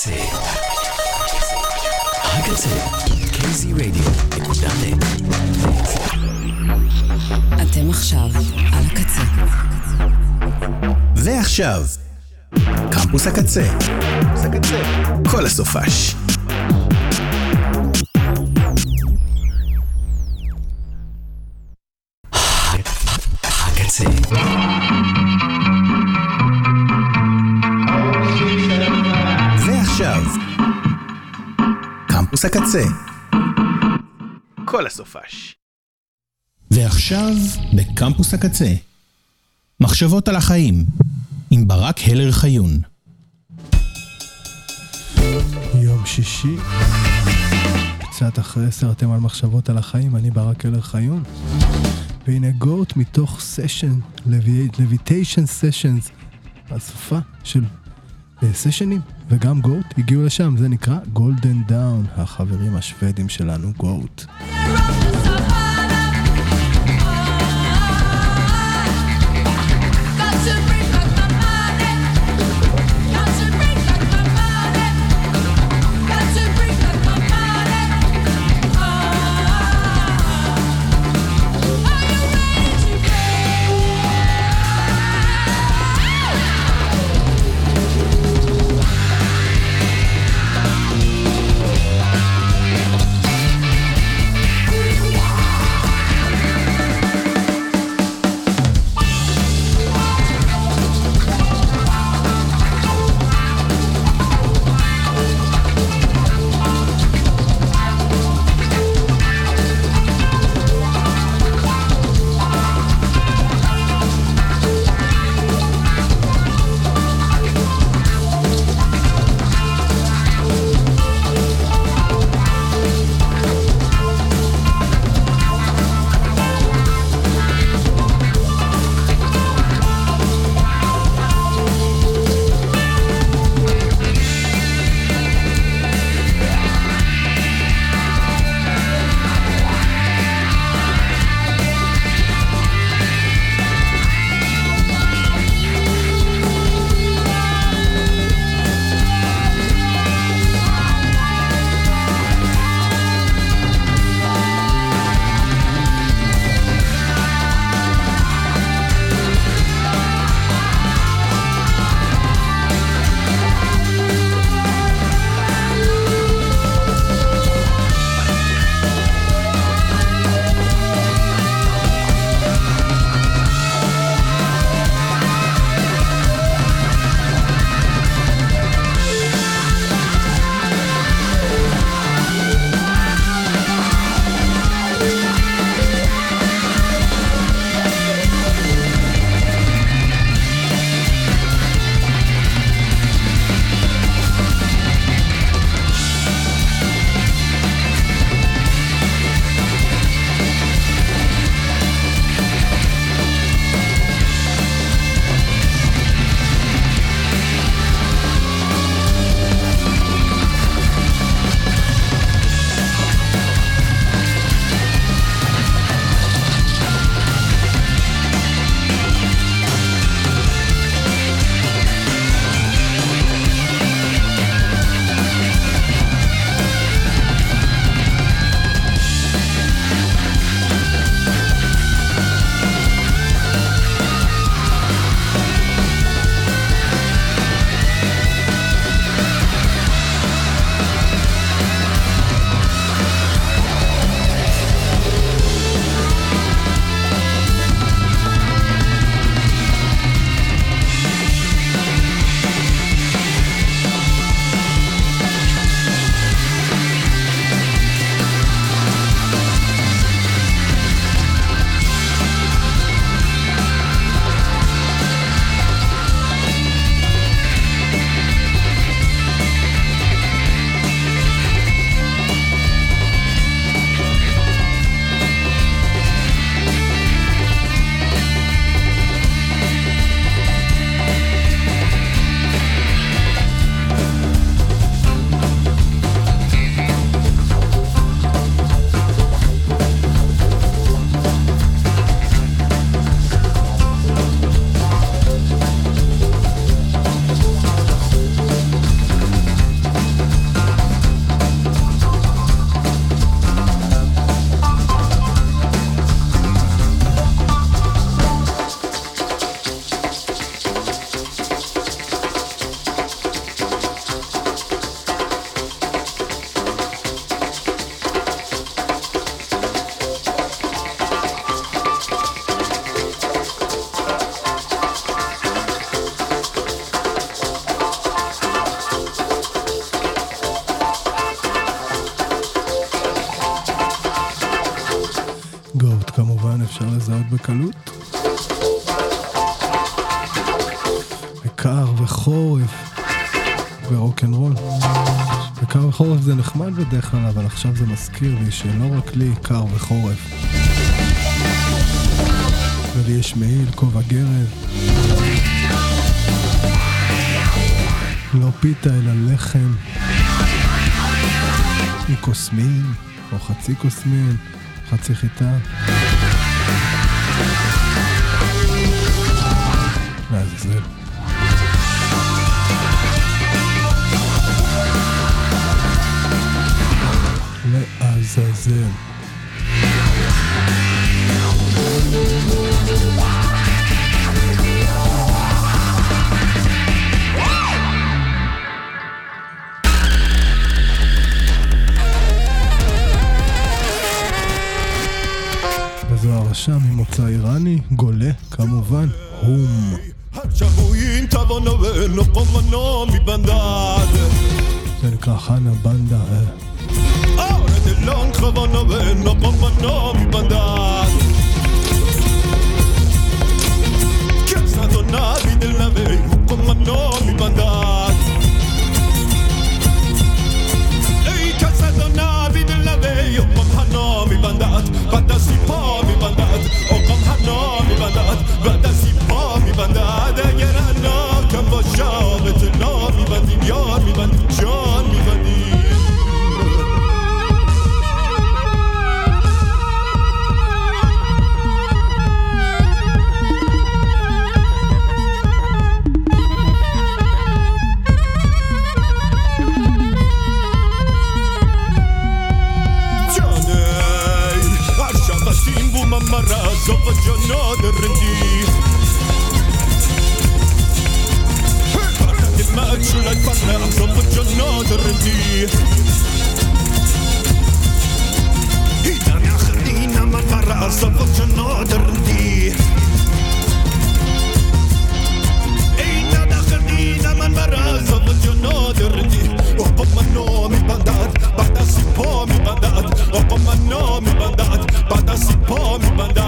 הקצה. kzradio.net. אתם עכשיו על הקצה. ועכשיו, קמפוס הקצה. כל הסופש. הקצה. ועכשיו, קמפוס הקצה. כל הסופש. ועכשיו, בקמפוס הקצה. מחשבות על החיים. עם ברק הלר חיון. יום שישי. קצת אחרי 10 אתם על מחשבות על החיים. אני ברק הלר חיון. והנה גוט מתוך סשן, לויטיישן סשנס. הסופה של סשנים. וגם גוט הגיעו לשם. זה נקרא גולדן דאון. החברים השוודים שלנו גוט. בקלות. קר וחורף ורוק'נ'רול. קר וחורף זה נחמד בדרך כלל, אבל עכשיו זה מזכיר לי שלא רק לי קר וחורף. ולי יש מעיל, כובע גרב. לא פיתה אלא לחם. מקוסמין, או חצי קוסמין, חצי חיטה. לעזאזל. לעזאזל. וזו הרשע ממוצא איראני, גולה, כמובן, הום. זה נקרא חנה בנדה. Long Havana when no pomano mi bandad Casa donna vide la vei pomano mi bandad Ei casa donna vide la vei pomano mi bandad Bada si po mi bandad o pomano mi bandad Bada si po mi bandad Era no cambo shavet no mi bandin yor mi bandin jon mi bandin Zoppa giorno del rendi Parla del maggio l'hai parla Zoppa giorno del rendi Idana khadina man barra Zoppa giorno del rendi Idana khadina man barra Zoppa giorno del rendi Oppa manno mi bandat Bada si po mi bandat Oppa manno mi bandat Bada si po mi bandat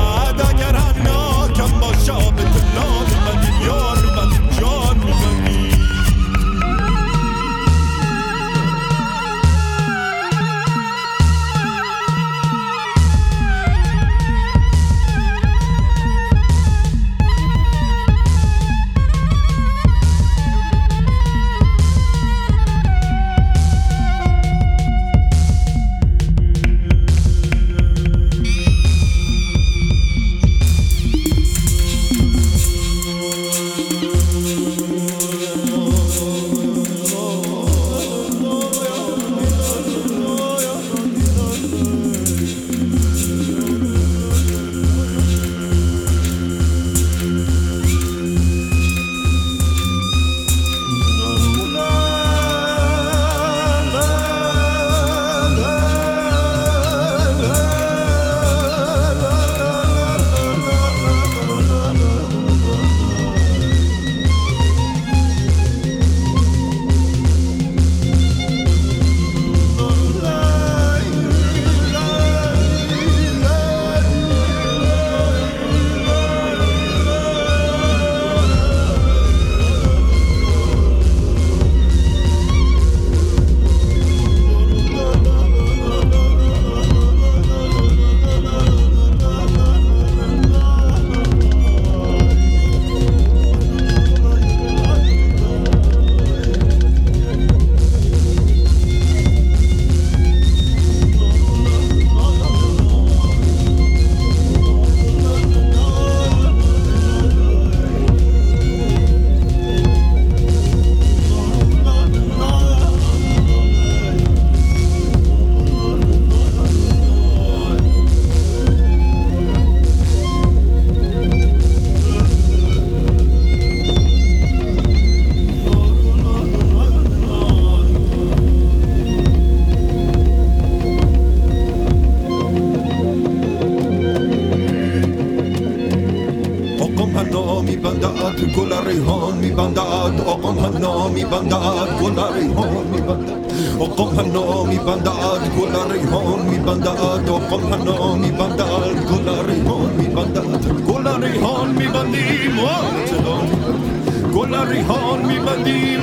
bandad oqam hanami bandad golari hon mi bandad oqam hanami bandad golari hon mi bandad oqam hanami bandad golari hon mi bandad golari hon mi bandim golari hon mi bandim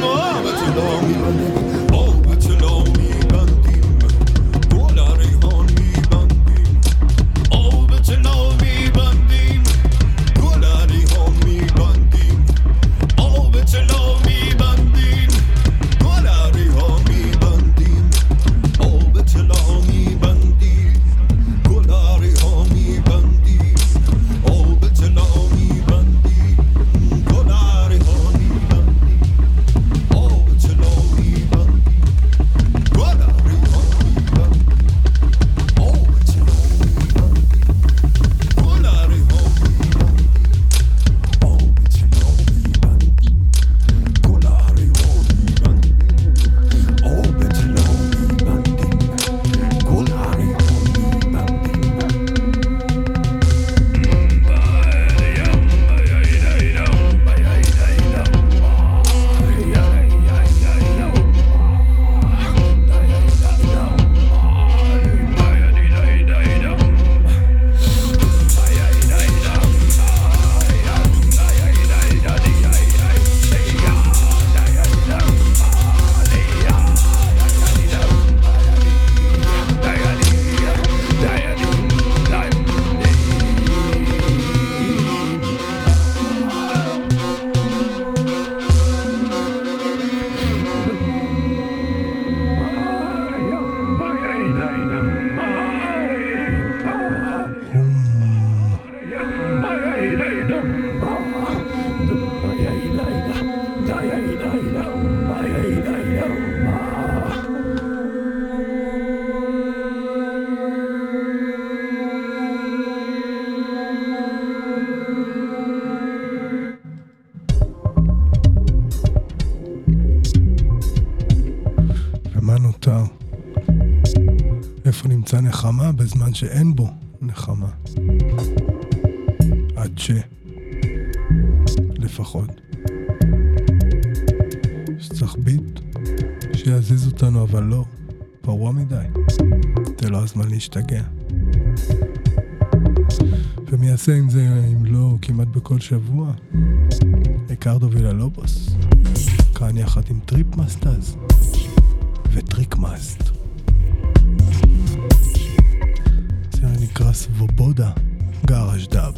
איפה נמצא נחמה בזמן שאין בו נחמה? עד לפחות שצריך ביט שיעזיז אותנו, אבל לא פרוע מדי, זה לא הזמן להשתגע. ומי יעשה עם זה אם לא כמעט בכל שבוע? ריקרדו ויללובוס כאן יחד עם טריפ מאסטאז וטריק מאסט. זה נקרא סבובודה גאראז' דאב.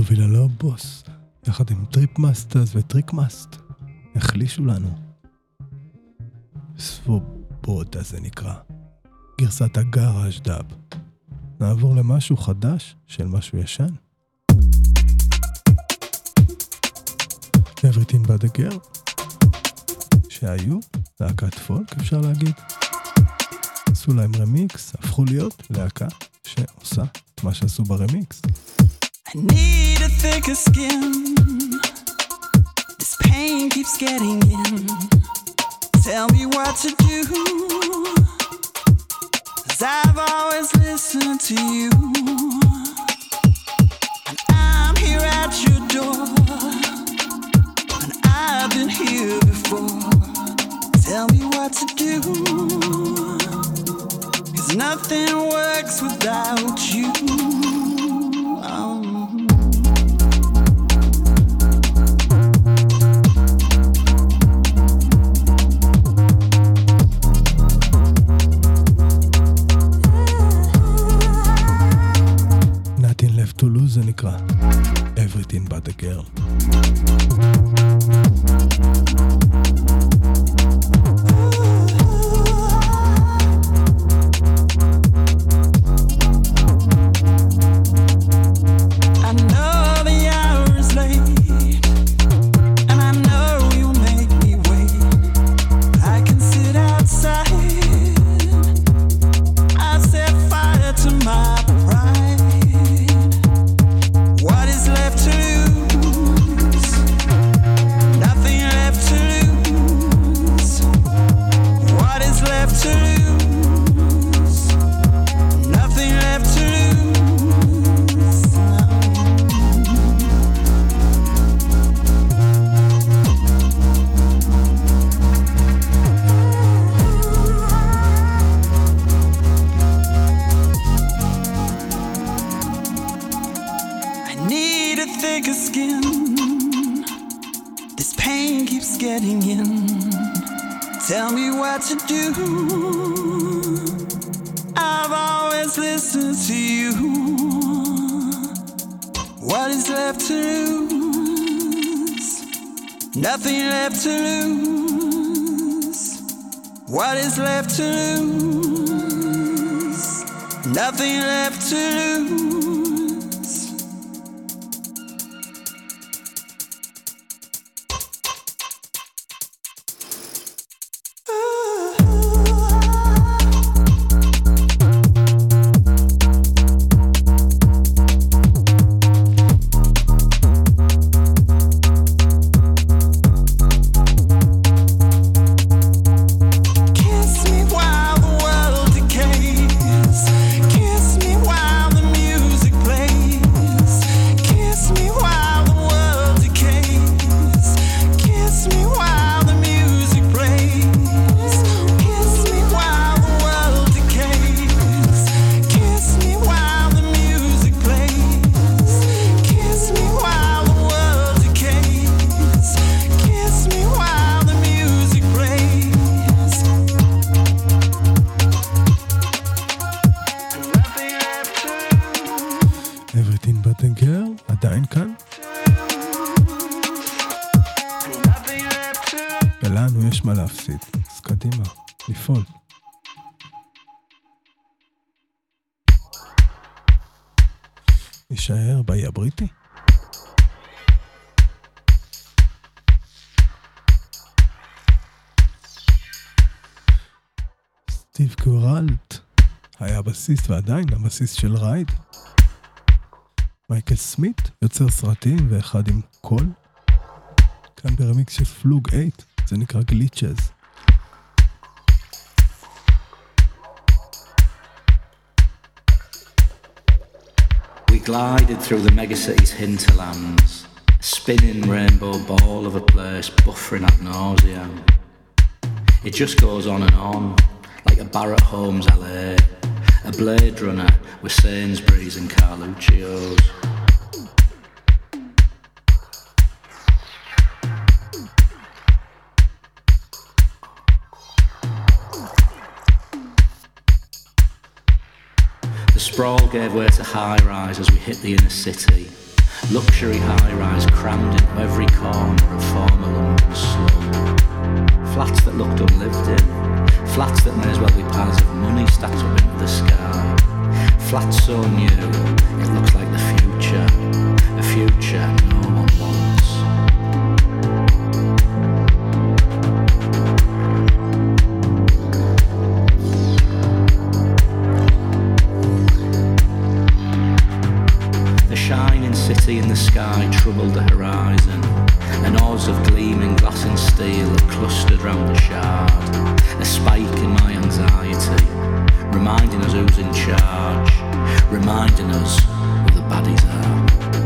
ריקרדו ויללובוס, יחד עם טריפ מאסטרס וטריק מאסט, החלישו לנו. סבובודה זה נקרא, גרסת הגראז' דאב. נעבור למשהו חדש של משהו ישן. Everything but a girl, שהיו להקת פולק אפשר להגיד. עשו להם רמיקס, הפכו להיות להקה שעושה את מה שעשו ברמיקס. I need a thicker skin. This pain keeps getting in. Tell me what to do. 'Cause I've always listened to you. And I'm here at your door. And I've been here before. Tell me what to do. 'Cause nothing works without you. To lose זה נקרא Everything but a girl. Nothing left to lose. What is left to lose? Nothing left to lose. יישאר באי הבריטי. סטיב קורלט היה בסיסט ועדיין הבסיסט של רייד. מייקל סמית יוצר סרטים ואחד עם קול. כאן ברמיקס של פלוג 8 זה נקרא גליצ'ז. We glided through the megacity's hinterlands, a spinning rainbow ball of a place buffering ad nauseam. It just goes on and on, like a Barrett Holmes LA, a Blade Runner with Sainsbury's and Carluccio's. The sprawl gave way to high-rise as we hit the inner city, Luxury high-rise crammed into every corner of former London slum. Flats that looked unlived in. Flats that may as well be piles of money stacked up into the sky. Flats so new, it looks like the future. A future no one wants. The shining city in the sky troubled the horizon. An oars of gleaming glass and steel that clustered round the shard. A spike in my anxiety, reminding us who's in charge, reminding us who the baddies are.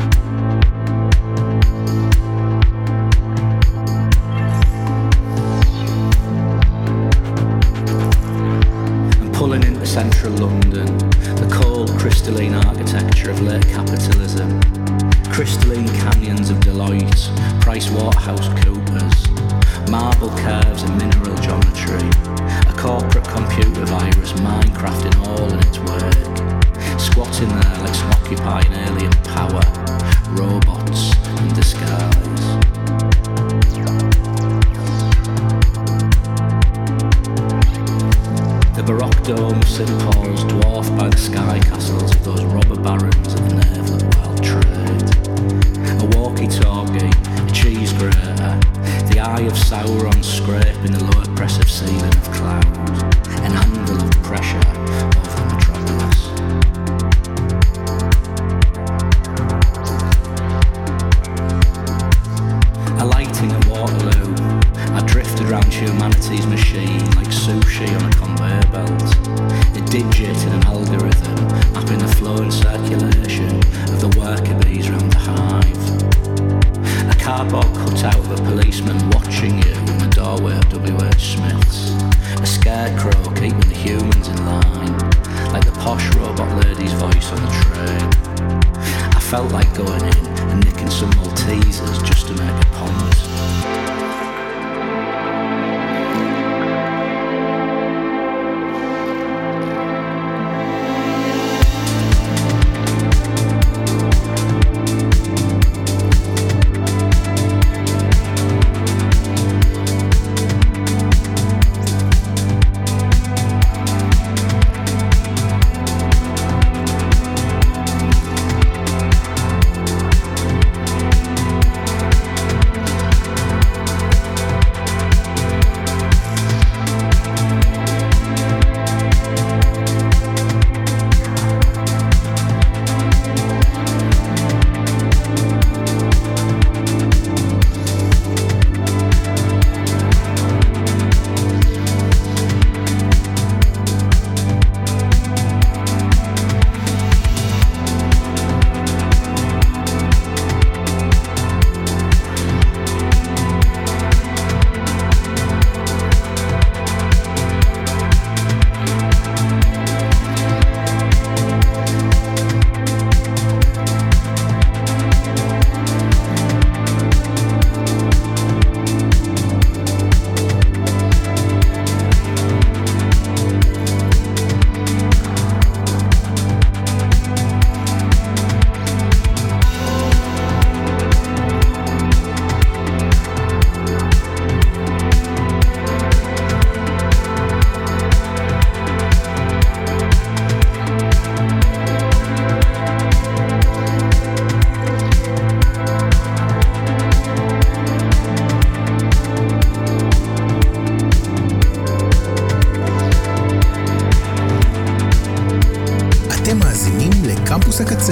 And pulling into central London, the cold crystalline architecture of late capitalism, crystalline canyons of Deloitte, PricewaterhouseCoopers, marble curves and mineral geometry, a corporate computer virus Minecrafting all in its work, squatting there like some occupying alien power, robots in disguise. The Baroque dome of St. Paul's dwarfed by the sky castles of those robber barons at the navel of wild trade. A walkie-talkie, a cheese grater, the eye of Sauron scraping the low oppressive ceiling of cloud, an anvil of pressure over the metropolis. Alighting at Waterloo, I drifted round humanity's machine like sushi on a conveyor belt, a digit in an algorithm mapping the flow and circulation of the worker bees round the hive. A cardboard cutout of a policeman watching you in the doorway of W.H. Smith's. A scarecrow keeping the humans in line, like the posh robot lady's voice on the train. I felt like going in and nicking some Maltesers just to make a point. קמפוס הקצה.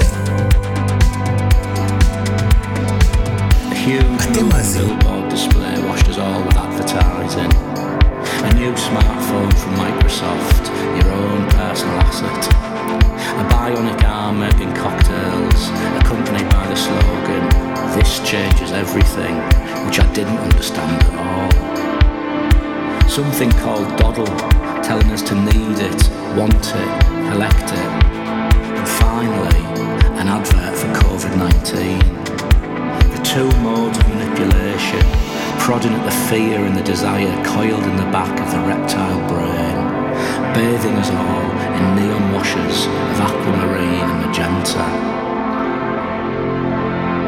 אתם מאזינים. display washed us all with advertising. A new smartphone from Microsoft, your own personal asset. A bionic arm making cocktails, accompanied by the slogan, "This changes everything," which I didn't understand at all. Something called Doddle, telling us to need it, want it, collect it. And finally, an advert for COVID-19. The two modes of manipulation, prodding at the fear and the desire coiled in the back of the reptile brain, bathing us all in neon washes of aquamarine and magenta.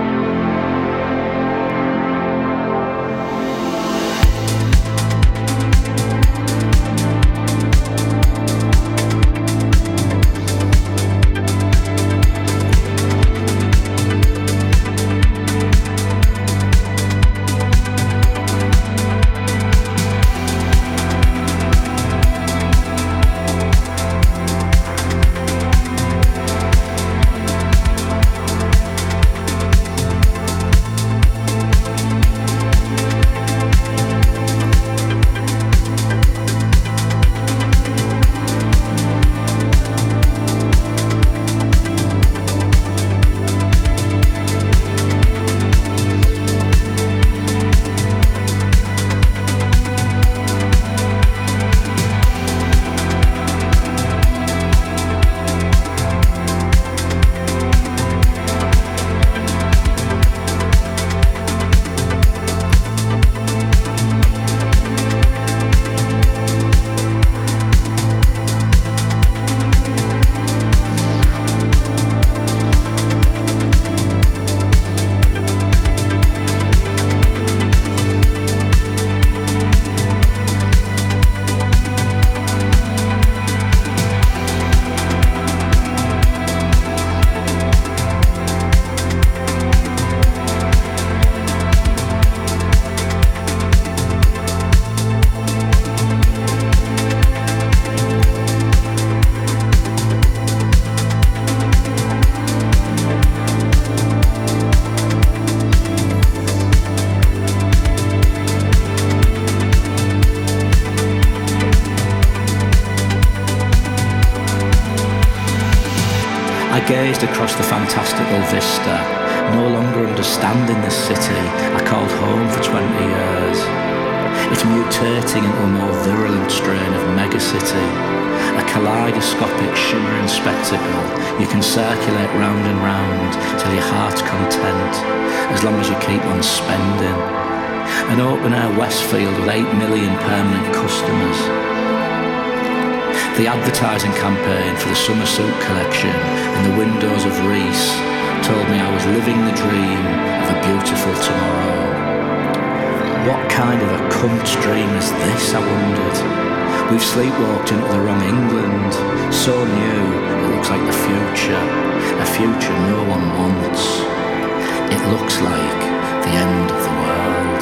I gazed across the fantastical vista, no longer understanding this city I called home for 20 years. It's mutating into a more virulent strain of megacity, a kaleidoscopic shimmering spectacle you can circulate round and round till your heart's content, as long as you keep on spending. An open-air Westfield with 8 million permanent customers. The advertising campaign for the summer suit collection in the windows of Reese told me I was living the dream of a beautiful tomorrow. What kind of a cunt's dream is this, I wondered? We've sleepwalked into the wrong England, so new it looks like the future, a future no one wants. It looks like the end of the world.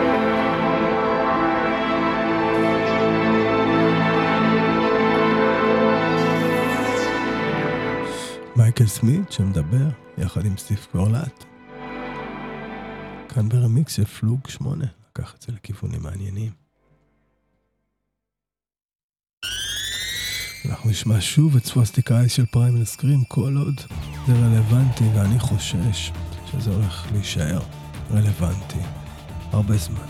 מייקל סמית שמדבר יחד עם סטיב קורלט. כאן ברמיקס של פלוג 8, לקח את זה לכיוונים מעניינים. אנחנו נשמע שוב את סווסטיקה אייס של פריימל סקרים, כל עוד זה רלוונטי, ואני חושש שזה הולך להישאר רלוונטי הרבה זמן.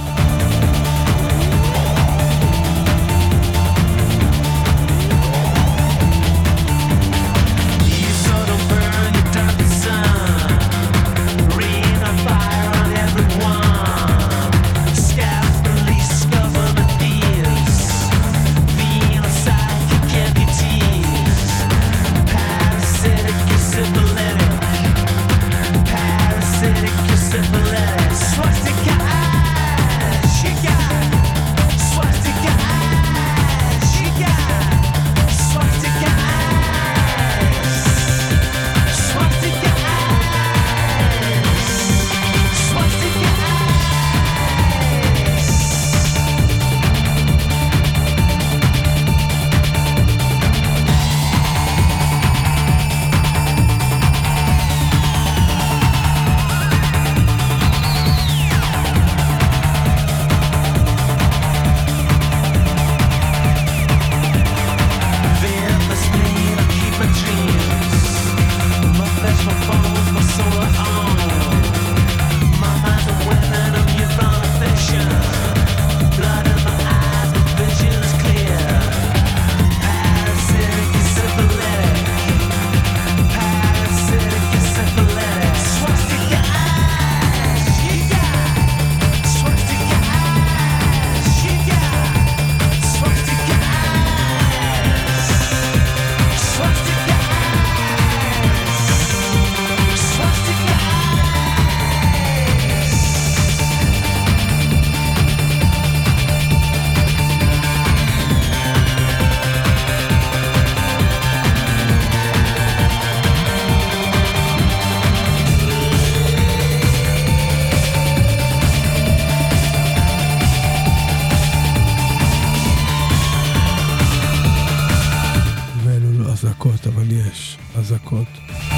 אבל יש אזעקות.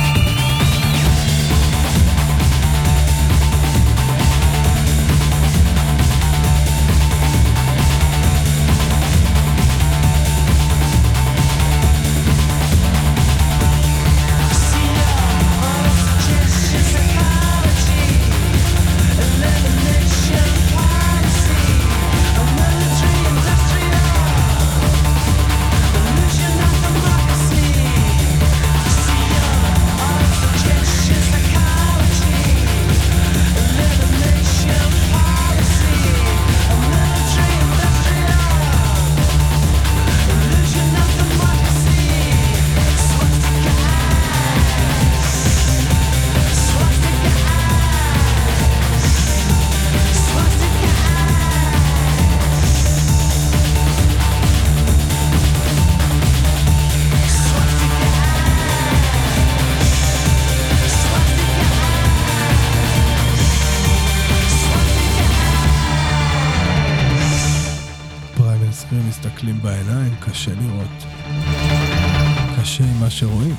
מסתכלים בעיניים, קשה לראות. קשה עם מה שרואים.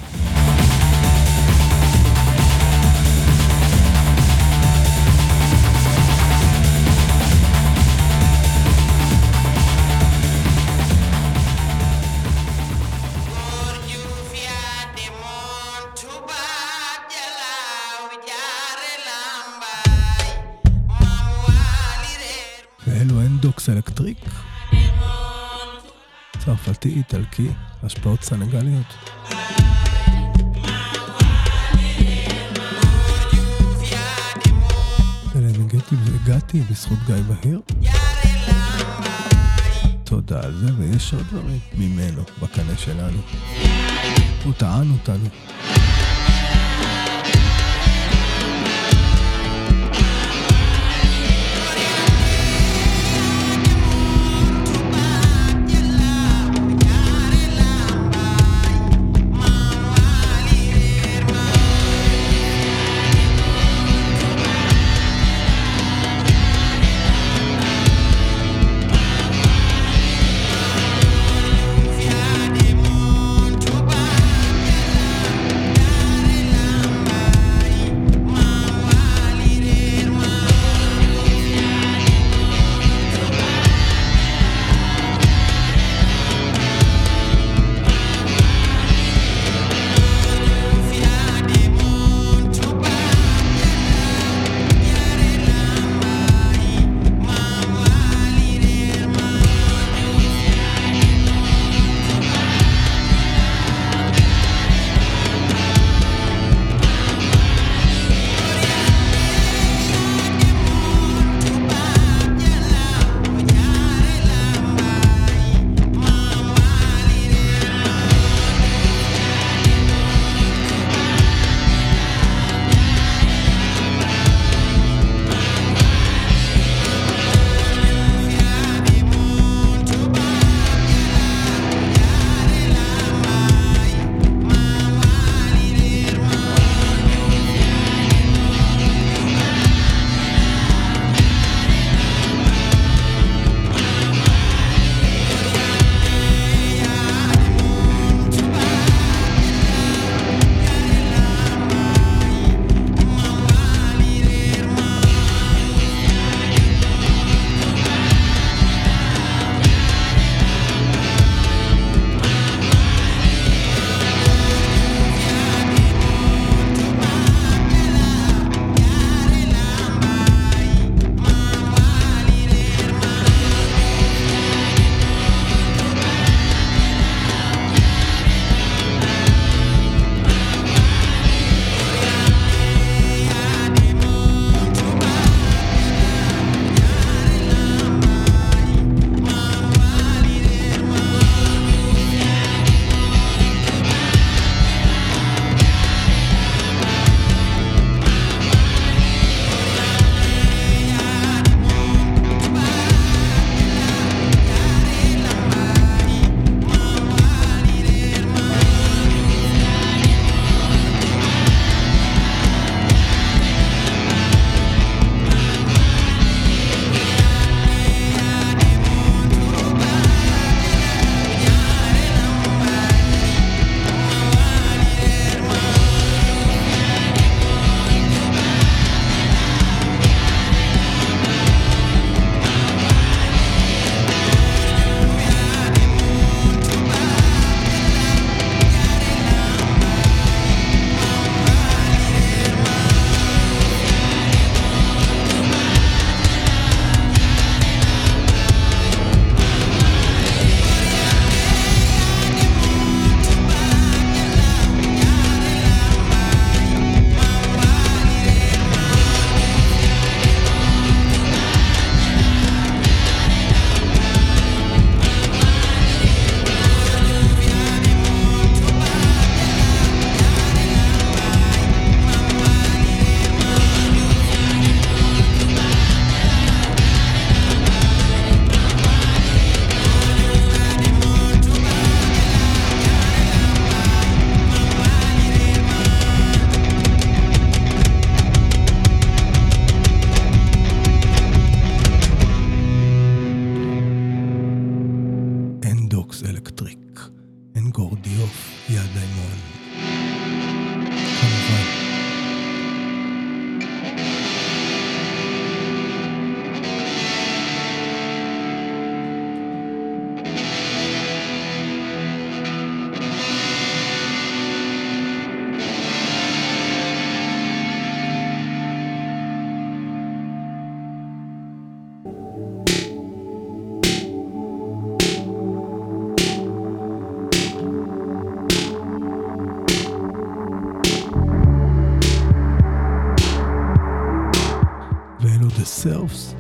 אנדוקס אלקטריק, צרפתי, איטלקי, השפעות סנגליות. אליהם הגעתי בזכות גיא בהיר. תודה על זה, ויש עוד דברים ממנו בקנה שלנו. הוא טען אותנו. Selves.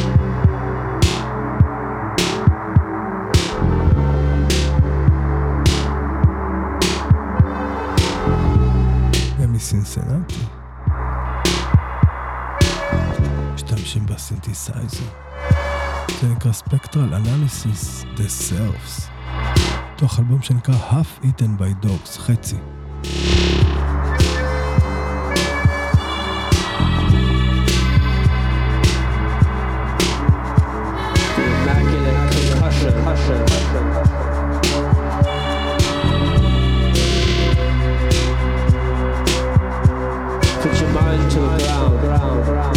ומסינסנטי משתמשים בסינתסייזר, זה נקרא Spectral Analysis The Selves, תוך אלבום שנקרא Half Eaten by Dogs, חצי. Put your mind to the ground.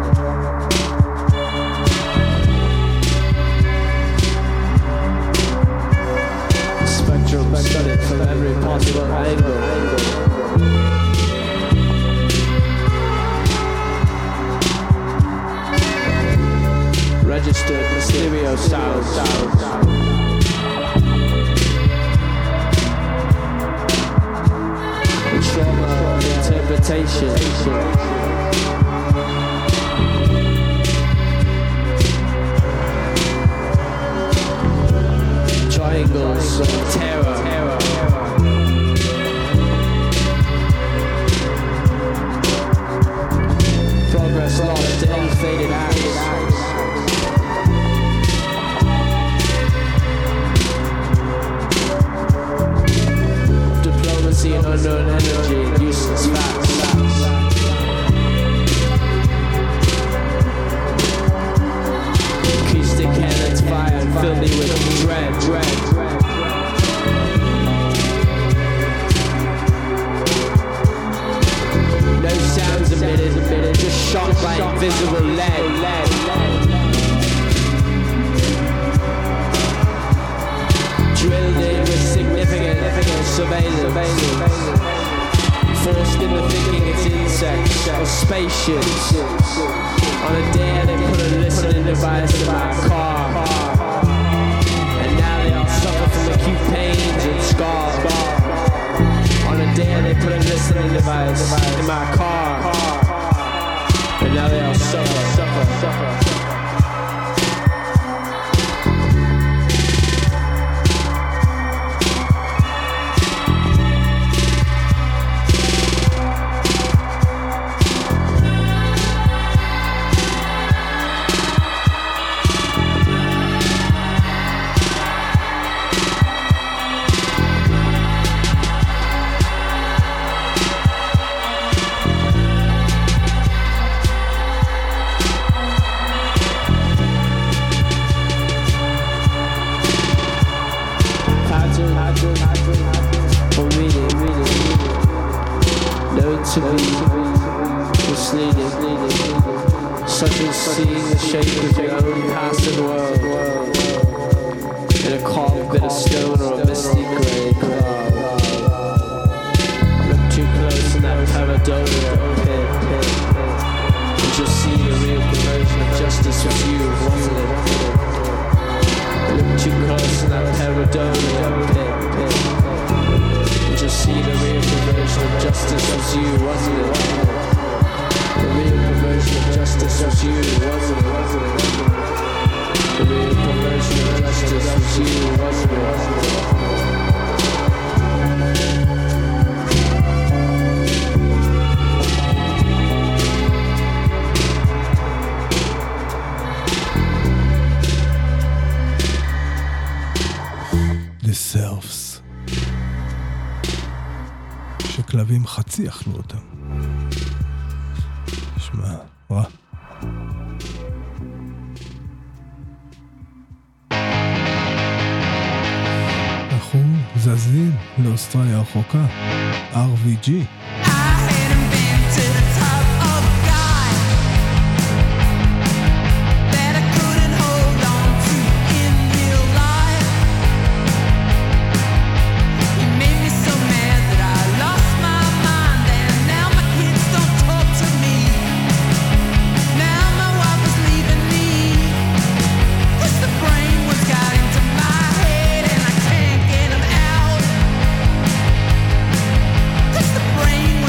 Spectrum studied from every possible angle. Registered the stereo sound. Trauma interpretation. Triangles of terror. Progress lost to ill-fated acts. Diplomacy and unknown energy, useless facts. Acoustic cannons fire and fill me with dread. No sounds emitted, just shot by invisible lead. Drilled in with significant surveillance. Forced into thinking it's insects or spaceships. On a dare they put a listening device in my car. And now they all suffer from acute pains and scars. On a dare they put a listening device in my car. And now they all suffer. To be misleading, such as seeing the shape of your own passing world in a carved bit of stone or a misty grey cloud. Look too close in that pareidolia pit, and you'll see the real perversion of justice was you, wasn't it? Look too close in that pareidolia pit. Just see the real perversion of justice was you, wasn't it? The real perversion of justice was you, wasn't it? The real perversion of justice was you, wasn't it? The Selves. שכלבים חצי אכלו אותם. שמע, רע. אנחנו זזים לאוסטרליה הרחוקה, RVG. Brain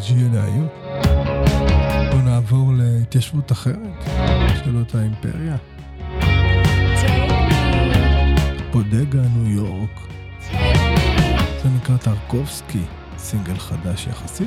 BG להיום. בואו נעבור להתיישבות אחרת של אותה אימפריה. בודגה, ניו יורק. זה נקרא טרקובסקי, סינגל חדש יחסית.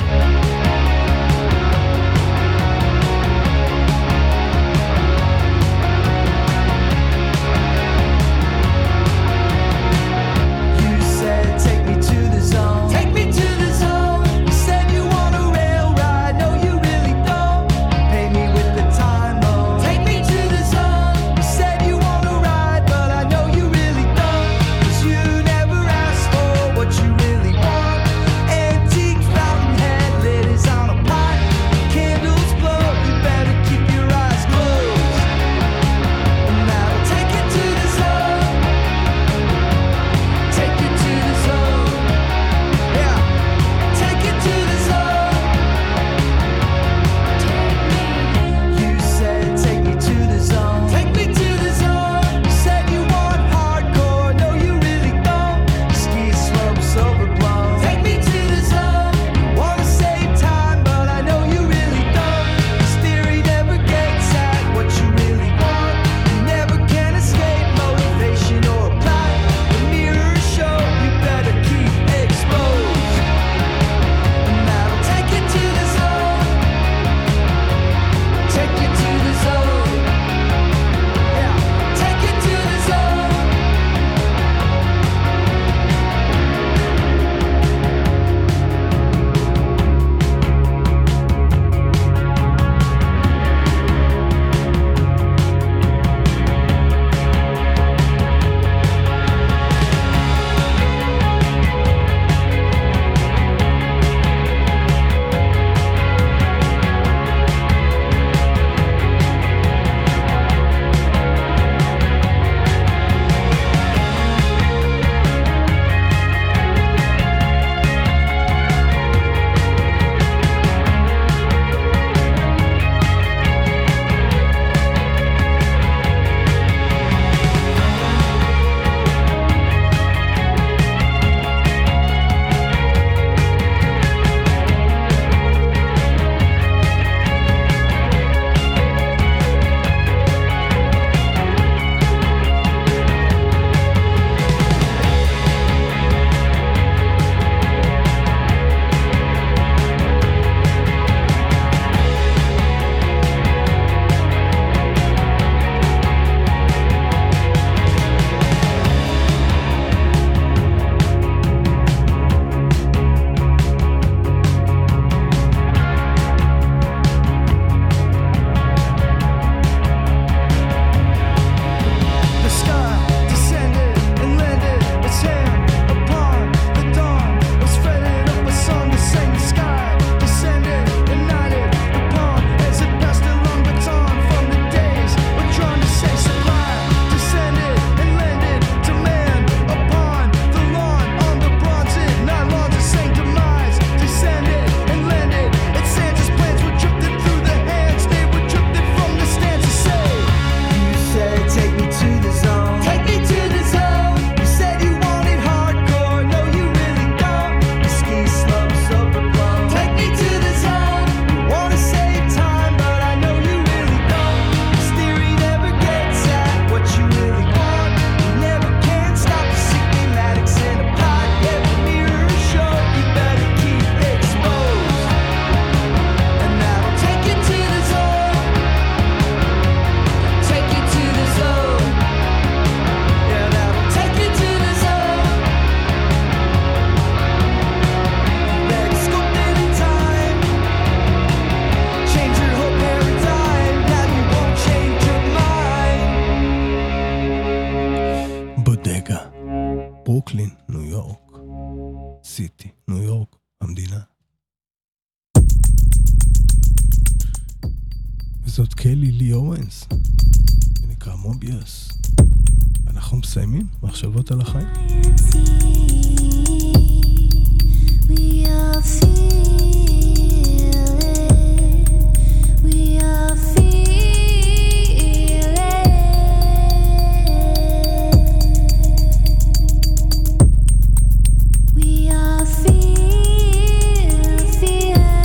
ברוקלין, ניו יורק, סיטי, ניו יורק, המדינה. וזאת קלי לי אורנס, זה נקרא מוביוס. אנחנו מסיימים מחשבות על החיים. We are feel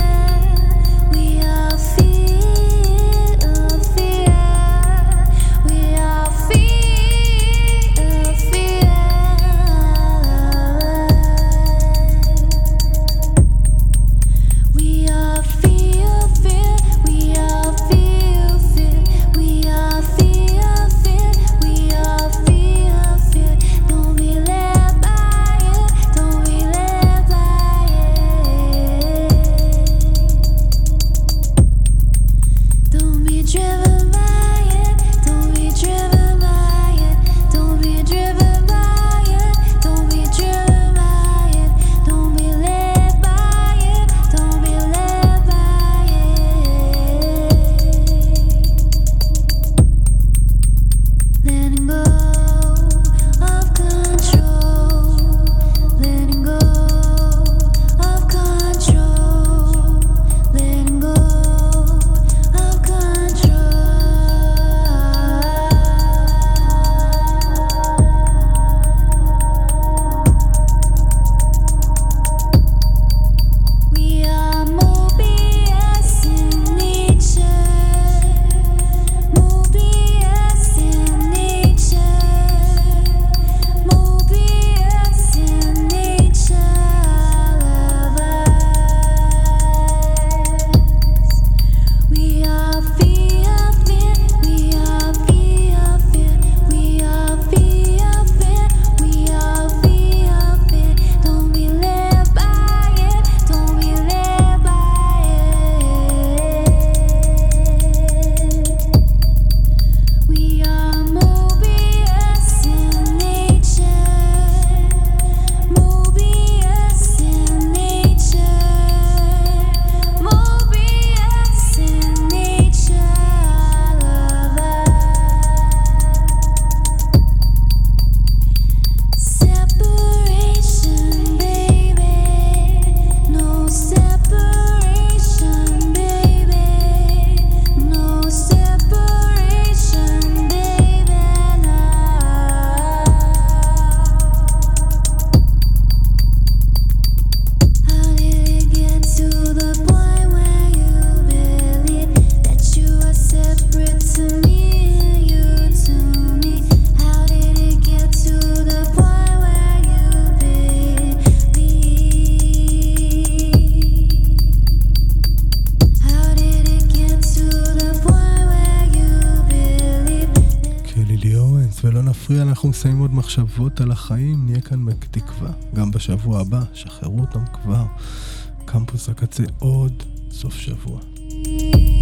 אפריל אנחנו מסיימים עוד מחשבות על החיים, נהיה כאן בתקווה, גם בשבוע הבא, שחררו אותם כבר. קמפוס הקצה עוד סוף שבוע.